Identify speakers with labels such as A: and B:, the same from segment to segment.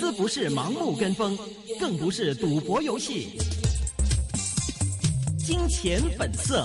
A: 資不是盲目跟風，更不是賭博遊戲。金錢本色。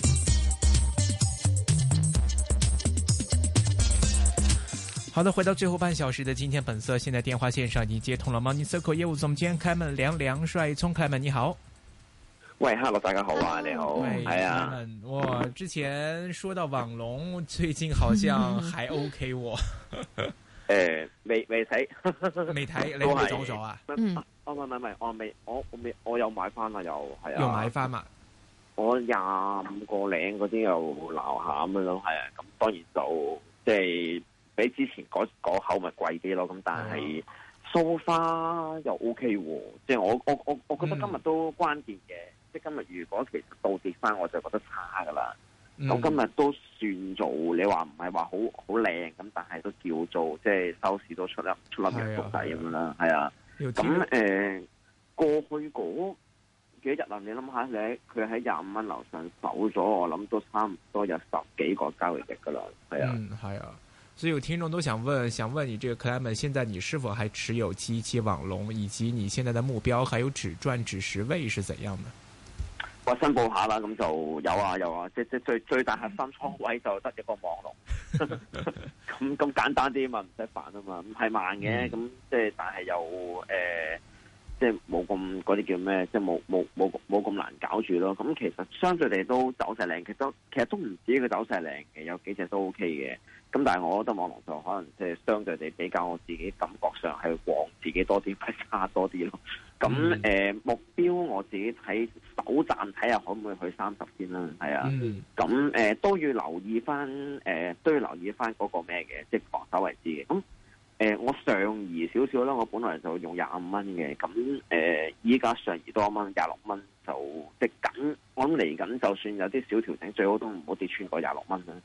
B: 好的，回到最後半小時的今天本色，現在電話線上已經接通了 Money Circle 業務總監開門梁帥聰，開門你好。
C: 喂 ，Hello， 大家好啊，你好，係啊。
B: 哇，之前說到網龍，最近好像還 OK 喎。
C: 未睇，
B: 未睇，你冇走咗啊？
C: 唔係，我有買翻啦，又係啊。
B: 又買翻嘛？
C: 我25個零嗰啲又撈下咁樣咯，係啊。咁當然就即係。比之前嗰口咪貴啲咯，咁但係 so far 又 OK 喎，即係我覺得今日都關鍵嘅，即係今日如果其實倒跌翻，我就覺得差噶啦。咁今日都算做，你話唔係話好靚咁，但係都叫做即係收市都出粒陽燭底咁樣啦，係啊。咁過去嗰幾日啊，你諗下佢喺25蚊樓上守咗，我諗都差唔多有10幾個交易日噶啦，係啊，
B: 係啊。所以有聽眾都想問你這個 Clement， 現在你是否還持有717網龍，以及你現在的目標還有止賺止蝕位是怎樣的？
C: 我申報下啦，咁就有啊，即最大核心倉位就得一個網龍，咁簡單啲嘛，唔使煩啊嘛，唔係慢嘅，咁即係但係又即係冇咁嗰啲叫咩，即係冇咁難搞住咯。咁其實相對地都走勢靚，其實都唔止佢走勢靚嘅，有幾隻都 OK 嘅。咁但係我覺得網龍就可能即係相對地比較我自己感覺上係旺自己多啲，不差多啲咯。咁目標我自己睇首站睇下可唔可以去30先啦，係啊。咁都要留意翻嗰個咩嘅，即係防守位置嘅。咁我上移少少啦，我本來就用25蚊嘅，咁依家上移多一蚊，26蚊就即緊。我諗嚟緊，就算有啲小調整，最好都唔好跌穿過26蚊啦。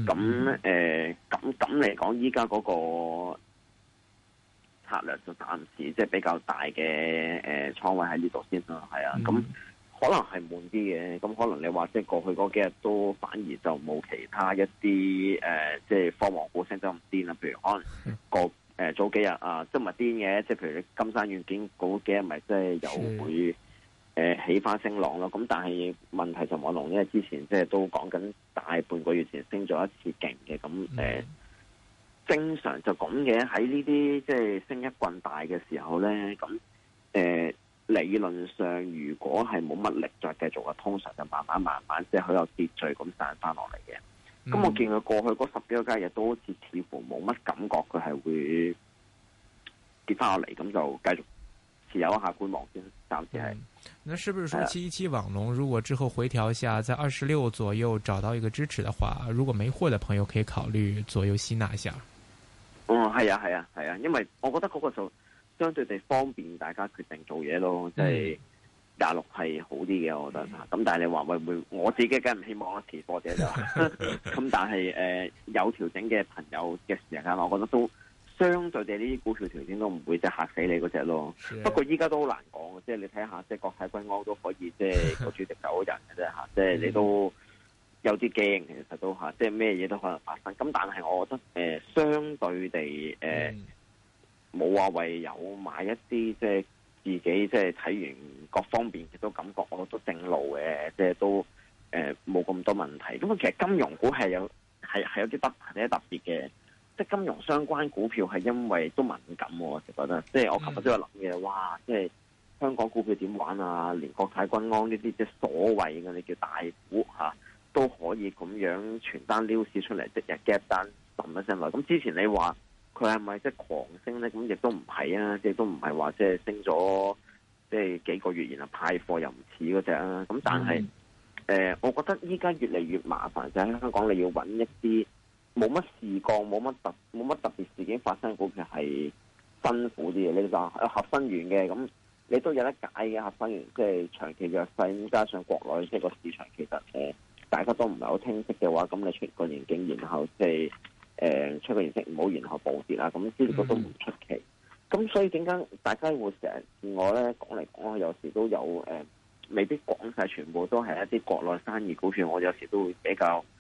C: 咁嚟講，依家嗰個策略就暫時即係比較大嘅倉位喺呢度先啦，係啊。咁可能係悶啲嘅，咁可能你話即係過去嗰幾日都反而就冇其他一啲即係科網股升得咁癲啦，譬如可能早幾日啊，即係唔係癲嘅，即係譬如你金山軟件嗰幾日咪即係又會起翻升浪咯。咁但係問題就網龍，因為之前即係都講緊大半個月前升咗一次勁嘅，咁正常就咁嘅。喺呢啲即係升一棍大嘅時候咧，咁理論上如果係冇乜力再繼續嘅，通常就慢慢即係好有秩序咁散翻落嚟嘅。咁我見佢過去嗰10幾個交易日都好似乎冇乜感覺，佢係會跌翻落嚟，咁就繼續持有一下觀望先，暫時係。
B: 那是不是說717網龍如果之後回調下，在26左右找到一個支持的話，如果沒貨的朋友可以考慮左右吸納一下？
C: 係啊，因為我覺得嗰個就相對地方便大家決定做嘢咯，即係26係好啲嘅，我覺得。咁但係你話會唔會？我自己梗係唔希望啦，持貨者就咁。但係有調整嘅朋友嘅時間，我覺得都相對地呢啲股票調整都唔會即係嚇死你嗰隻咯。不過依家都好難講，即係你睇下，即係國泰君安都可以即係個主席走人嘅啫嚇，即係你都有啲驚，其實都嚇，即係咩嘢都可能發生。咁但係我覺得相對地冇話為有買一啲即係自己即係睇完各方面亦都感覺我都正路嘅，即係都冇咁多問題。咁其實金融股係有啲特別嘅，即係金融相關股票係因為都敏感，我就覺得即係我琴日都有諗嘅，哇！即係香港股票點玩啊？連國泰君安呢啲即係所謂嘅你叫大股嚇都可以咁樣全單撩市出嚟，即日 gap 單揼一聲落。咁之前你話佢係咪即係狂升咧？咁亦都唔係啊，即係都唔係話即係升咗即係幾個月然後派貨又唔似嗰隻啊。咁但係我覺得依家越嚟越麻煩，就喺香港你要揾一啲冇乜事幹、冇乜特別事件發生嘅股票係辛苦啲嘅。你話合生元嘅咁，你都有得解嘅。合生元即係長期弱勢，加上國內即係個市場其實大家都唔係好清晰嘅話，咁你出個盈警，然後即係出個業績唔好，然後暴跌啦，咁呢個都唔出奇。咁所以點解大家會成日見我咧講嚟講去，有時都有未必講晒全部都係一啲國內生意股票，我有時都會比較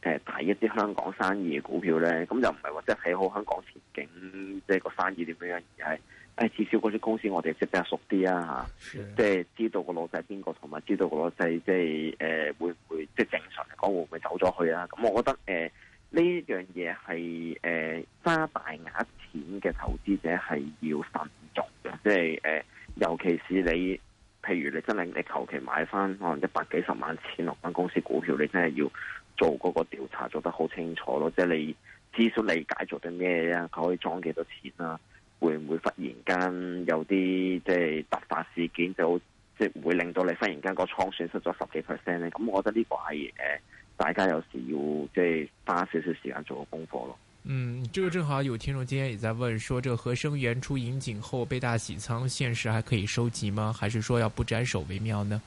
C: 睇一啲香港生意嘅股票咧，咁就唔係話即係睇好香港前景，即係個生意點樣，而係至少嗰啲公司我哋識得熟啲啊嚇，即係知道個老細邊個，同埋知道個老細即係會唔會即係正常嚟講會唔會走咗去啊？咁我覺得呢樣嘢係揸大額錢嘅投資者係要慎重嘅，即係尤其是你，譬如你真係你求其買翻可能100幾十萬錢落間公司股票，你真係要做嗰個調查做得好清楚咯，即係你至少理解做啲咩啊，佢可以裝幾多錢啊，會唔會忽然間有啲即係突發事件就即係會令到你忽然間個倉損失咗10幾%咧？咁我覺得呢個係大家有時要即係花少少時間做個功課咯。
B: 這個正好有聽眾今天也在問說，這個合生元出盈警後被大洗倉，現時還可以收集嗎？還是說要不斬手為妙呢？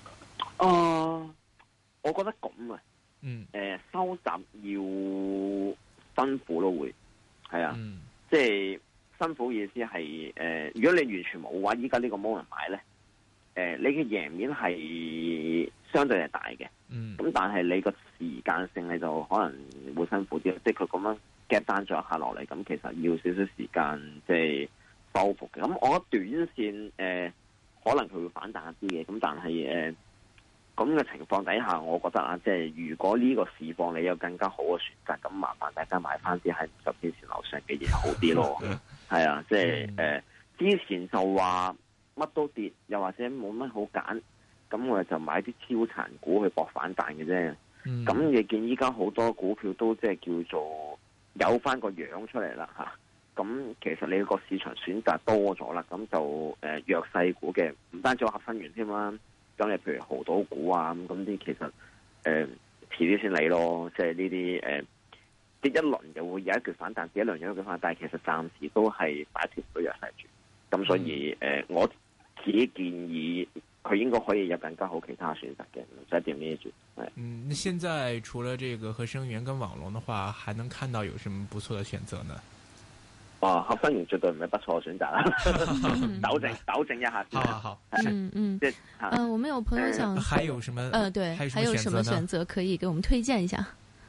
C: 我覺得咁啊，收集要辛苦咯，會係啊，即係辛苦意思係如果你完全冇嘅話，依家呢個 moment 買咧，你嘅贏面係相對係大嘅，咁但係你個時間性你就可能會辛苦啲，即係佢咁樣夾單咗一下落嚟，咁其實要少少時間即係收復嘅。咁我覺得短線可能佢會反彈一啲嘅，咁但係咁嘅情況底下，我覺得啊，即係如果呢個市況你有更加好嘅選擇，咁麻煩大家買翻啲喺50天線樓上嘅嘢好啲咯。係啊，即係之前就話乜都跌，又或者冇乜好揀，咁我哋就買啲超殘股去搏反彈嘅啫。咁你見依家好多股票都即係叫做有翻個樣出嚟啦嚇。咁其實你個市場選擇多咗啦，咁就弱勢股嘅唔單止有合生元添啦。咁你譬如濠賭股啊，咁啲其實遲啲先嚟咯，即係呢啲跌一輪就會有一橛反彈，跌一輪有一橛反彈，但係其實暫時都係擺脫唔到弱勢住。咁所以我自己建議佢應該可以有更加好其他選擇嘅，唔使點呢住。
B: 那現在除了這個合生元跟網龍的話，還能看到有什麼不錯的選擇呢？
C: 合生元絕對唔係不錯嘅選擇啦，糾正一下。
B: 好，
D: 我們有朋友想，
B: 還有什麼？
D: 對，還有什麼選擇可以給我們推薦一下？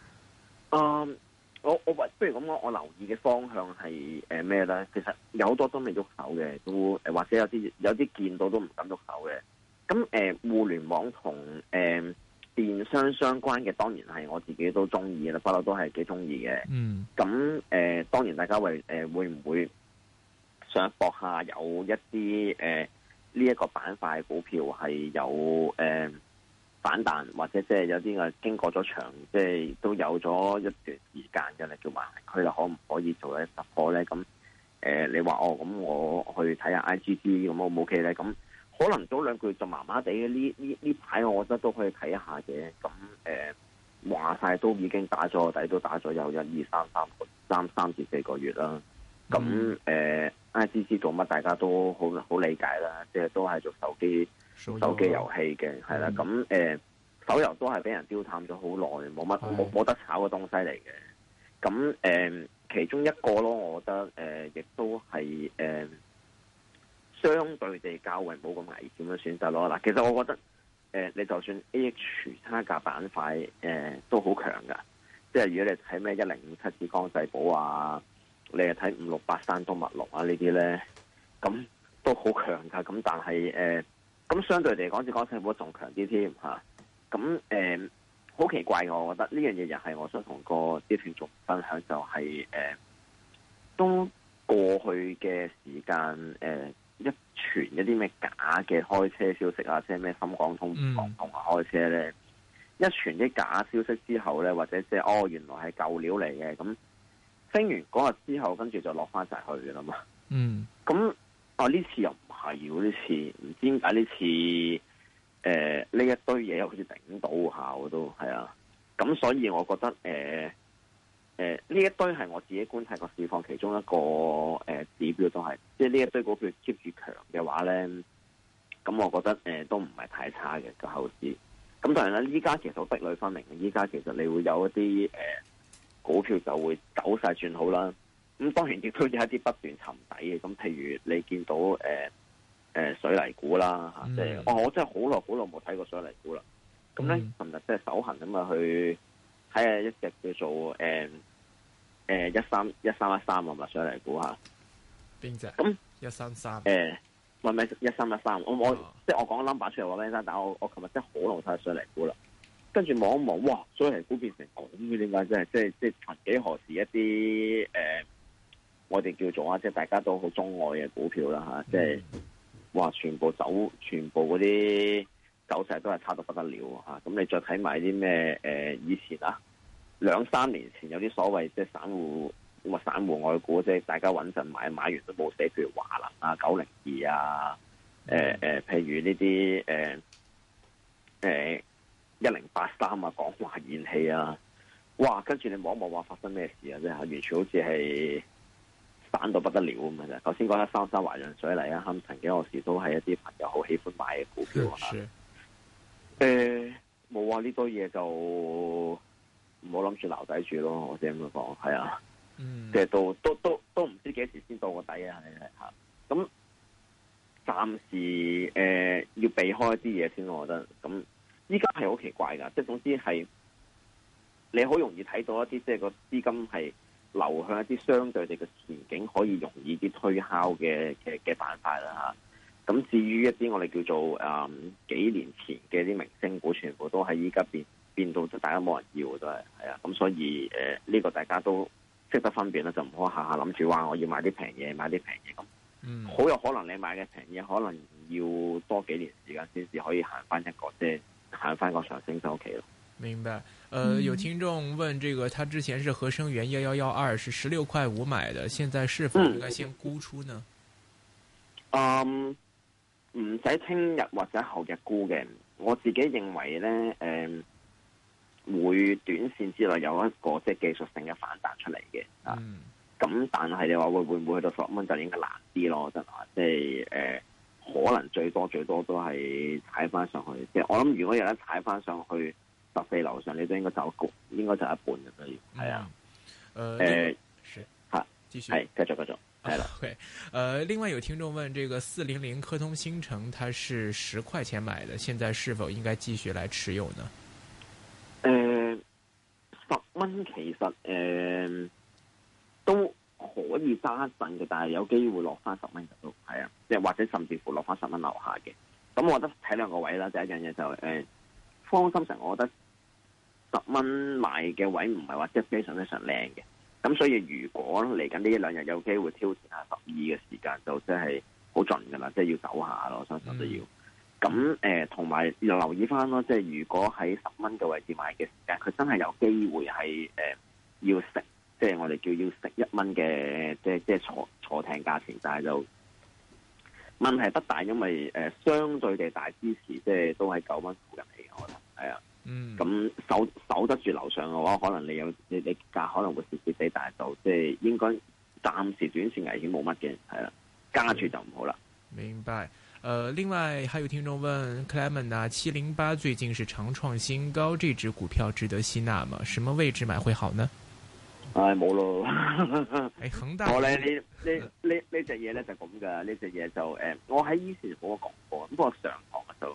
C: 我不如咁講，我留意嘅方向係咩咧？其實有好多都未喐手嘅，都或者有啲見到都唔敢喐手嘅。咁互聯網同電商相關嘅，當然係我自己都中意啦，不嬲都係幾中意嘅。咁當然大家會唔會想搏下有一啲呢一個板塊嘅股票係有反彈，或者即係有啲嘅經過咗長，即係都有咗一段時間嘅咧，叫橫行區啦，可唔可以做一突破咧？咁你話咁我去睇下 IGG 咁 O 唔 OK 咧？咁可能早兩個月就麻麻地嘅，呢排我覺得都可以睇一下嘅。咁話晒都已經打咗底，都打咗有1、2、3至4個月啦。咁IGG 做乜大家都好理解啦，即係都係做手機遊戲嘅，係啦。咁手遊都係俾人丟淡咗好耐，冇得炒嘅東西嚟嘅。咁其中一個咯，我覺得亦都係相對地較為冇咁危險嘅選擇咯。嗱，其實我覺得你就算 AH 差價板塊都好強噶，即係如果你睇咩1057紫光世寶啊，你係睇5683山東墨龍啊呢啲咧，咁都好強噶。咁但係咁相對嚟講，紫光世寶仲強啲添嚇。咁好奇怪嘅，我覺得呢樣嘢又係我想同個啲聽眾分享，就係都過去嘅時間一傳一啲咩假嘅開車消息啊，即係咩深港通、唔港通啊開車咧，一傳啲假消息之後咧，或者即係原來係舊料嚟嘅，咁升完嗰日之後，跟住就落翻晒去嘅啦嘛。咁呢次又唔係喎，呢次唔知點解呢次呢一堆嘢好似頂到下我都係啊。咁所以我覺得呢一堆係我自己觀察個市況其中一個指標，都係即係呢一堆股票 keep 住強嘅話咧，咁我覺得都唔係太差嘅個後市。咁當然啦，依家其實好壁壘分明嘅，依家其實你會有一啲股票就會走勢轉好啦。咁當然亦都有一啲不斷沉底嘅，咁譬如你見到水泥股啦嚇，即係我真係好耐冇睇過水泥股啦。咁咧，琴日即係手痕咁啊去睇下一隻叫做1313啊嘛，上嚟估下。
B: 邊隻？
C: 咁
B: 133。
C: 唔係1313，即係我講 number 出嚟話咩？但我琴日真係好耐睇上嚟估啦。跟住望一望，哇！上嚟估變成咁嘅，點解真係即係曾幾何時一啲我哋叫做即係大家都好鍾愛嘅股票啦嚇，即係哇！全部嗰啲走勢都係差到不得了嚇。咁你再睇埋啲咩以前啊2-3年前有啲所謂即係散戶外股，即係大家穩陣買完都冇死，譬如華能啊、902啊，譬如呢啲1083啊、港華燃氣啊，哇！跟住你望一望話發生咩事啊？即係完全好似係散到不得了咁嘅啫。頭先講133華潤水泥啊，曾幾何時都係一啲朋友好喜歡買嘅股票啊。冇啊，呢堆嘢就唔好諗住留底住咯，我只咁樣講，係啊。即係都唔知幾時先到個底啊！嚇，咁暫時要避開一啲嘢先，我覺得。咁依家係好奇怪㗎，即係總之係你好容易睇到一啲即係個資金係流向一啲相對地嘅前景可以容易啲推敲嘅板塊啦嚇。咁至於一啲我哋叫做幾年前嘅啲明星股，全部都係依家變到大家冇人要都係啊。咁所以呢個大家都識得分辨啦，就唔好下下諗住話我要買啲平嘢，買啲平嘢咁。好有可能你買嘅平嘢，可能要多幾年時間先至可以行翻一個即係行翻個上升周期咯。
B: 明白。有聽眾問，這個他之前是合生元1112是16.5買的，現在是否應該先沽出呢？
C: 唔使聽日或者後日沽嘅，我自己認為咧，會短線之內有一個即係技術性嘅反彈出嚟嘅啊。咁但係你話會唔會去到10蚊就應該難啲咯？真係即係可能最多都係踩翻上去。即係我諗，如果有得踩翻上去14樓上，你都應該走一半嘅都要。係啊。
B: 繼續
C: 係繼續。係啦
B: ，OK，另外有聽眾問，這個400科通芯城，它是10塊錢買的，現在是否應該繼續來持有呢
C: ？10蚊其實都可以揸一陣嘅，但係有機會落翻10蚊就都係啊，即係或者甚至乎落翻10蚊樓下嘅。咁我覺得睇兩個位啦，第一樣嘢就科通芯城，我覺得10蚊買嘅位唔係話即係非常靚嘅。咁所以如果嚟緊呢一兩日有機會挑戰下12嘅時間，就真係好盡噶啦，即係要走下咯，相信都要。咁同埋要留意翻咯，即係如果喺10蚊嘅位置買嘅時間，佢真係有機會係要食，即係我哋叫要食1蚊嘅，即係坐艇價錢，但係就問題不大，因為相對地大支持，即係都係9蚊附近嚟嘅，我覺得係啊。咁守得住樓上嘅話，可能你價可能會蝕蝕地，但係就即係應該暫時短線危險冇乜嘅，係啦，加住就唔好啦。
B: 明白。另外還有聽眾問 Clement 啊，708最近是長創新高，這隻股票值得吸納嗎？什麼位置買會好呢？
C: 冇咯。
B: 恒大。
C: 我咧呢隻嘢咧就咁噶，呢隻嘢就我喺以前冇講過，不過上堂就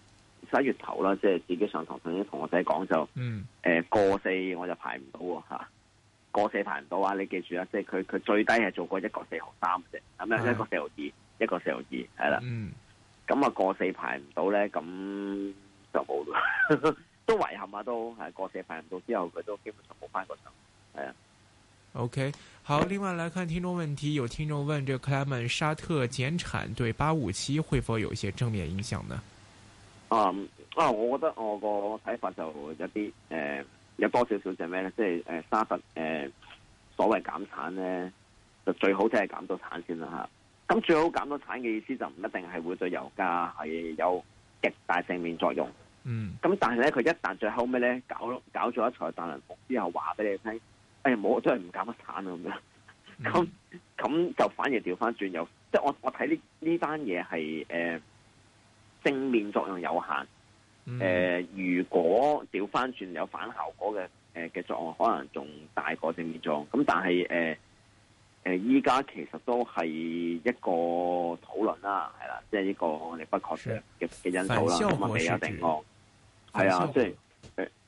C: 11月頭啦，即係自己上堂曾經同我仔講就過4我就排唔到喎嚇，過4排唔到啊！你記住啊，即係佢最低係做過1個4毫3啫，咁樣1個4毫2，1個4毫2係啦。咁啊過4排唔到咧，咁就冇啦，都遺憾啊，都係過4排唔到之後，佢都基本上冇翻個上，係啊。
B: OK，好，另外來看聽眾問題，有聽眾問：這個 Clement 沙特減產對857會否有一些正面影響呢？
C: 我覺得我個睇法就有啲有多少少就咩咧，即係沙特所謂減產咧，就最好即係減到產先啦嚇。咁最好減到產嘅意思就唔一定係會對油價係有極大正面作用。咁但係咧，佢一旦最後尾咧搞咗一場大輪盤之後，話俾你聽，冇真係唔減得產啊咁樣。咁就反而調翻轉，又即係我睇呢單嘢係正面作用有限。如果調翻轉有反效果嘅作用，可能仲大過正面作用。咁但係依家其實都係一個討論啦，係啦，即係呢個我哋不確定嘅因素啦。咁啊未有定案。係啊，即係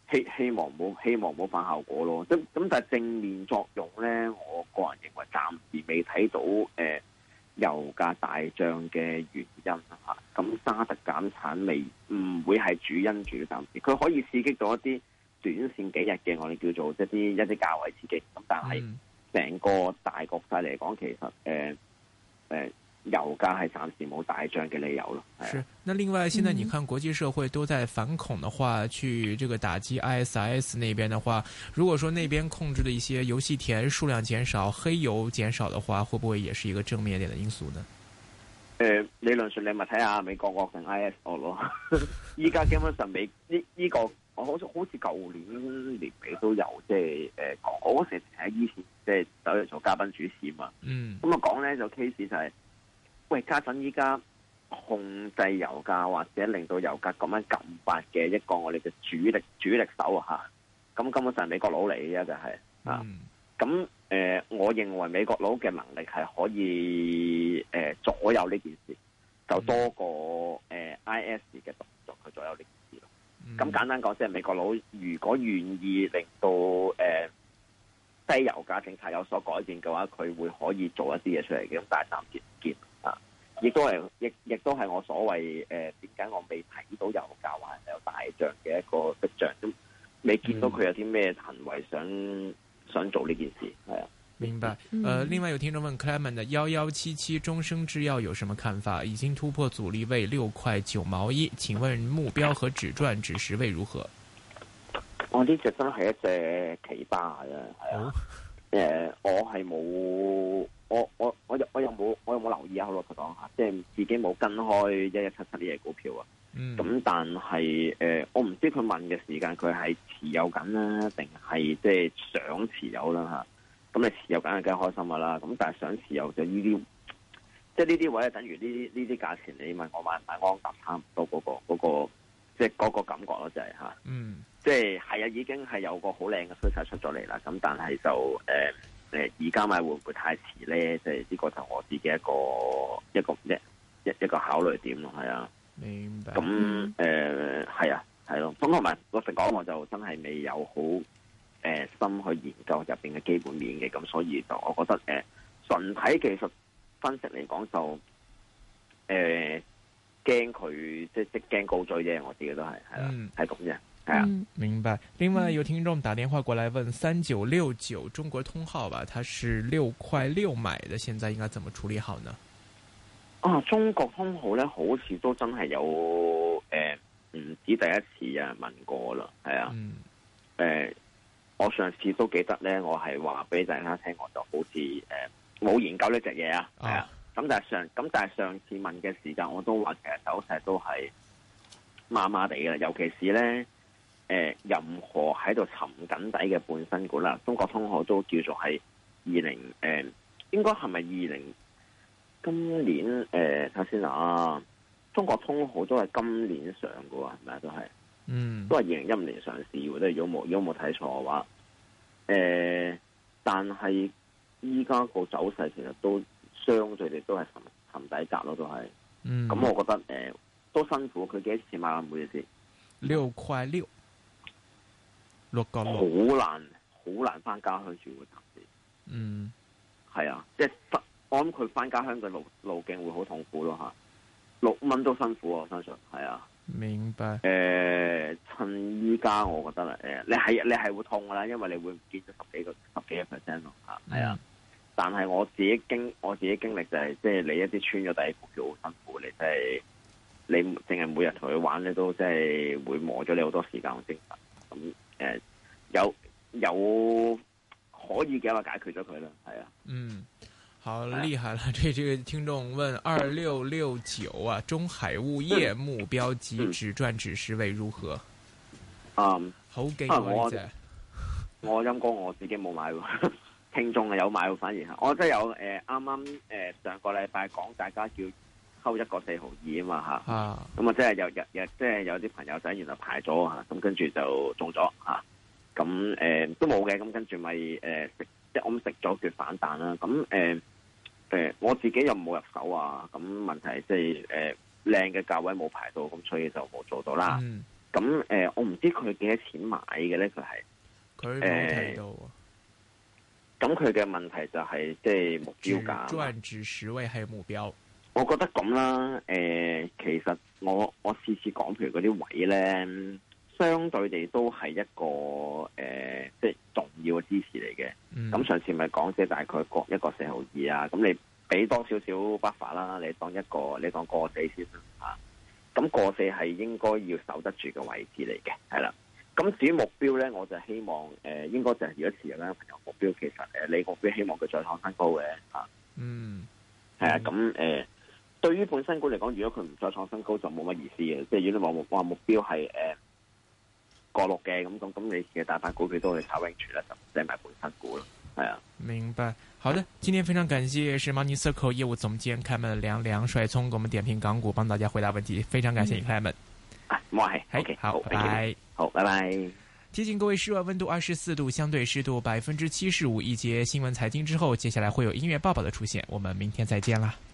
C: 希望冇反效果咯。咁但係正面作用咧，我個人認為暫時未睇到油價大漲嘅原因嚇。咁沙特減產未唔會係主因住，暫時佢可以刺激到一啲短線幾日嘅我哋叫做一啲價位刺激。咁但係成個大局勢嚟講，其實油價係暫時冇大漲嘅理由咯。
B: 是，那另外，現在你看國際社會都在反恐的話，去這個打擊 ISIS 那邊的話，如果說那邊控制的一些遊戲田數量減少、黑油減少的話，會不會也是一個正面一點的因素呢？
C: 理論上你咪睇下美國惡定 IS 惡咯。依家基本上呢個我好似舊年年尾都有講，我嗰時喺以前走嚟做嘉賓主持嘛。咁啊講咧就 case 就係。喂，家陣依家控制油價或者令到油價咁樣撳發嘅一個我哋嘅主力手啊嚇，咁根本上係美國佬嚟嘅就係啊，咁我認為美國佬嘅能力係可以左右呢件事，就多過IS 嘅動作去左右呢件事咯。咁簡單講，即係美國佬如果願意令到低油價政策有所改變嘅話，佢會可以做一啲嘢出嚟嘅。咁但係暫時唔見啊，亦都係我所謂點解我未睇到油價話係有大漲嘅一個跡象，都未見到佢有啲咩行為想做呢件事，係啊。
B: 明白。另外有聽眾問 Clement 的1177中生製藥有什麼看法？已經突破阻力位6塊9毛1，請問目標和止賺止蝕位如何？
C: 我呢隻真係一隻奇葩啊！係啊，我係冇，我有冇留意啊？好老實講下，即係自己冇跟開1177呢隻股票啊。咁但係我唔知佢問嘅時間佢係持有緊啦，定係即係想持有啦嚇。咁你持有緊係梗係開心噶啦。咁但係想持有就呢啲，即係呢啲位係等於呢啲價錢，你問我買唔買安踏差唔多嗰個，即係嗰個感覺咯，就係嚇。即係係啊，已經係有個好靚嘅趨勢出咗嚟啦。咁但係就而家買會唔會太遲咧？即係呢個就我自己一個考慮點咯，係啊。
B: 明白。
C: 咁係啊，係咯。咁同埋老實講，我就真係未有好深去研究入邊嘅基本面嘅。咁所以就我覺得純睇技術分析嚟講就驚佢即係驚高追啫。我自己都係啦，係咁啫。
B: 明白。另外有聽眾打電話過來問3969中國通號吧，它是6塊6買的，現在應該怎麼處理好呢？
C: 中國通號咧，好似都真係有唔止第一次有人問過啦，係啊。我上次都記得咧，我係話俾大家聽，我就好似冇研究呢隻嘢啊，係啊。咁但係上次問嘅時間，我都話其實走勢都係麻麻地嘅，尤其是咧。任何喺度沉緊底嘅半新股啦，中國通號都叫做係應該係咪今年睇下先啊？中國通號都係今年上嘅喎，係咪啊？都係2015年上市喎，都係如果冇睇錯嘅話，但係依家個走勢其實都相對地都係沉底格咯，都係。咁我覺得都辛苦，佢幾多錢買啊？每次
B: 6塊6。
C: 好難翻家鄉住會暫時。係啊，即係我諗佢翻家鄉嘅路徑會好痛苦咯嚇。6蚊都辛苦，我相信係啊。
B: 明白。
C: 趁依家我覺得你係會痛噶啦，因為你會唔見咗十幾個 percent 咯嚇。係啊。但係我自己經歷就係，即係你一啲穿咗底股票好辛苦，你真係你淨係每日同佢玩咧，都即係會磨咗你好多時間同精神。咁有可以嘅話解決咗佢啦，係啊。
B: 好厲害啦！這個聽眾問2669啊，中海物業目標及止賺止蝕位如何？好勁喎！呢隻
C: 我陰公我自己冇買喎，聽眾有買喎，反而我真係有啱啱上個禮拜講大家叫抽1個4毫2啊嘛嚇，咁啊即係有啲朋友仔原來排咗嚇，咁跟住就中咗嚇，咁都冇嘅，咁跟住咪食，即係我食咗佢反彈啦，咁我自己又冇入手啊，咁問題即係靚嘅價位冇排到，咁所以就冇做到啦。咁咁我唔知佢幾多錢買嘅咧，佢冇提到。咁佢嘅問題就係即係目標價，
B: 賺值10位係目標。
C: 我覺得咁啦，其實我次次講譬如嗰啲位咧，相對地都係一個即係重要嘅支持嚟嘅。咁上次咪講即係大概各一個4.2啊，咁你俾多少少 buffer 啦，你當過4先啦嚇。咁過4係應該要守得住嘅位置嚟嘅，係啦。咁至於目標咧，我就希望應該就係如果持有咧朋友目標，其實你目標希望佢再創新高嘅嚇。係啊，咁對於本身股嚟講，如果佢唔再創新高，就冇乜意思嘅。即係如果你話目標係過6嘅咁，你嘅大把股票都可以炒 range 啦，就唔使買本身股咯。係啊，
B: 明白。好的，今天非常感謝是 Money Circle 業務總監Clement 梁帥聰給我們點評港股，幫大家回答問題。非常感謝你 Clement。
C: 我係 OK，
B: 好，拜拜。
C: 好，拜拜。
B: 提醒各位室外溫度24度，相對濕度75%。一節新聞財經之後，接下來會有音樂報報的出現。我們明天再見啦。